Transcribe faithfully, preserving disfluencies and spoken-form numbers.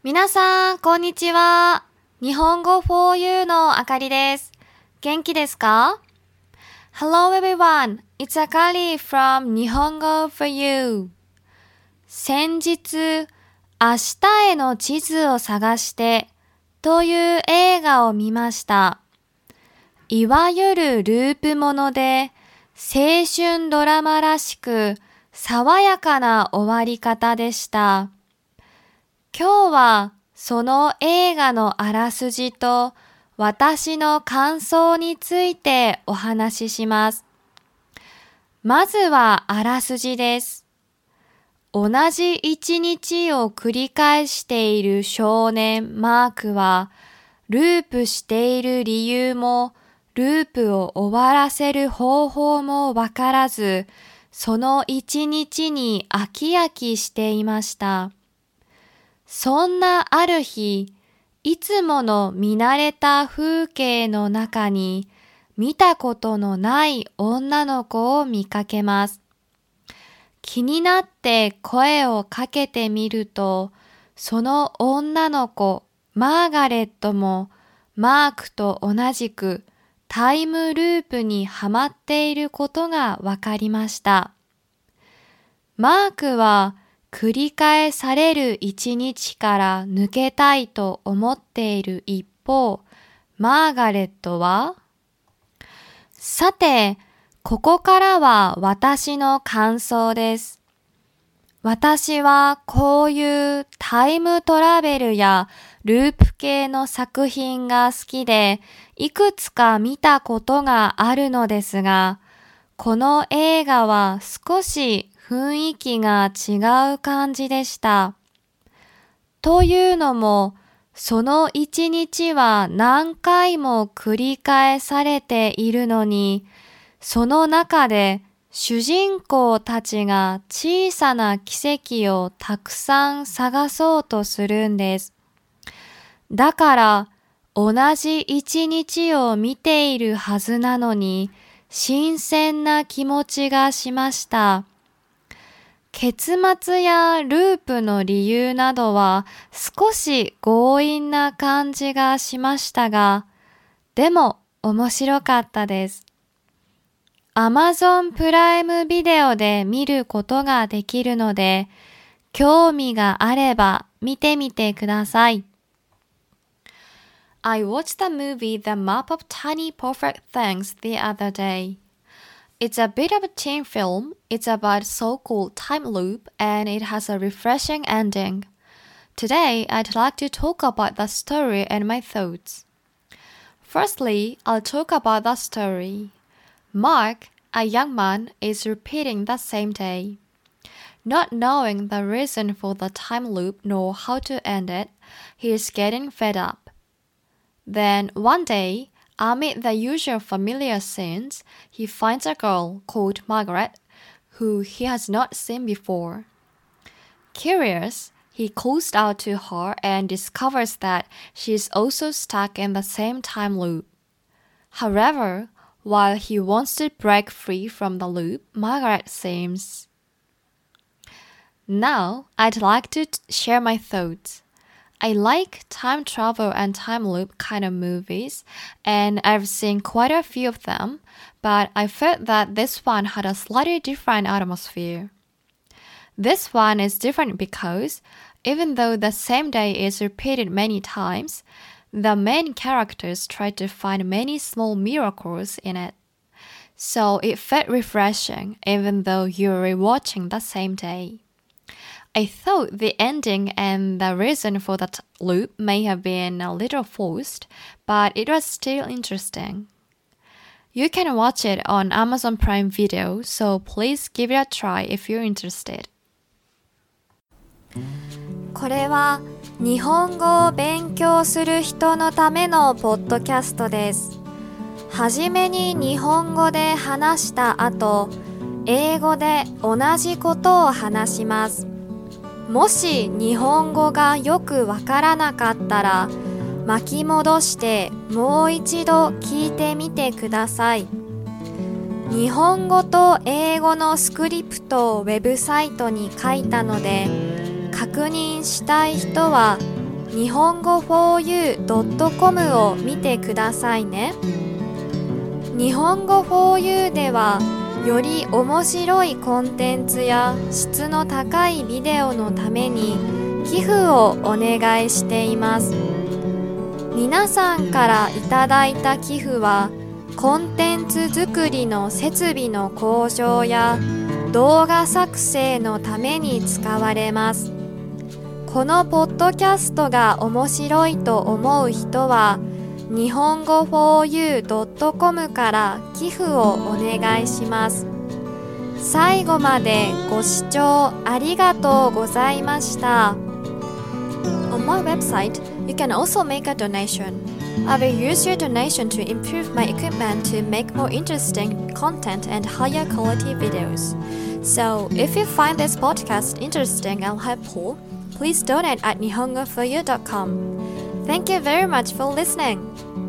皆さん、こんにちは。日本語 フォーユー のあかりです。元気ですか？ Hello everyone, it's Akari from 日本語 フォーユー。先日、明日への地図を探してという映画を見ました。いわゆるループもので、青春ドラマらしく爽やかな終わり方でした。今日はその映画のあらすじと私の感想についてお話しします。まずはあらすじです。同じ一日を繰り返している少年マークは、ループしている理由もループを終わらせる方法もわからず、その一日に飽き飽きしていました。そんなある日、いつもの見慣れた風景の中に見たことのない女の子を見かけます。気になって声をかけてみると、その女の子、マーガレットもマークと同じくタイムループにはまっていることがわかりました。マークは繰り返される一日から抜けたいと思っている一方、マーガレットは、さて、ここからは私の感想です。私はこういうタイムトラベルやループ系の作品が好きで、いくつか見たことがあるのですが、この映画は少し雰囲気が違う感じでした。というのも、その一日は何回も繰り返されているのに、その中で主人公たちが小さな奇跡をたくさん探そうとするんです。だから、同じ一日を見ているはずなのに、新鮮な気持ちがしました。結末やループの理由などは少し強引な感じがしましたが、でも面白かったです。Amazon プライムビデオで見ることができるので、興味があれば見てみてください。I watched the movie The Map of Tiny Perfect Things the other day.It's a bit of a teen film. It's about so-called time loop and it has a refreshing ending. Today, I'd like to talk about the story and my thoughts. Firstly, I'll talk about the story. Mark, a young man, is repeating the same day. Not knowing the reason for the time loop nor how to end it, he is getting fed up. Then, one day,Amid the usual familiar scenes, he finds a girl called Margaret, who he has not seen before. Curious, he calls out to her and discovers that she is also stuck in the same time loop. However, while he wants to break free from the loop, Margaret seems. Now, I'd like to t- share my thoughts.I like time travel and time loop kind of movies, and I've seen quite a few of them, but I felt that this one had a slightly different atmosphere. This one is different because, even though the same day is repeated many times, the main characters try to find many small miracles in it. So it felt refreshing, even though you're rewatching the same day.I thought the ending and the reason for that loop may have been a little forced, but it was still interesting. You can watch it on Amazon Prime Video, so please give it a try if you're interested. これは日本語を勉強する人のためのポッドキャストです。はじめに日本語で話した後、英語で同じことを話します。もし日本語がよくわからなかったら巻き戻してもう一度聞いてみてください。日本語と英語のスクリプトをウェブサイトに書いたので、確認したい人は日本語 フォーユードットコム を見てくださいね。日本語 フォーユー ではより面白いコンテンツや質の高いビデオのために寄付をお願いしています。皆さんからいただいた寄付はコンテンツ作りの設備の向上や動画作成のために使われます。このポッドキャストが面白いと思う人は日本語 フォーユードットコム から寄付をお願いします。最後までご視聴ありがとうございました。On my website, you can also make a donation. I will use your donation to improve my equipment to make more interesting content and higher quality videos. So, if you find this podcast interesting and helpful, please donate at nihongo for you dot com. Thank you very much for listening.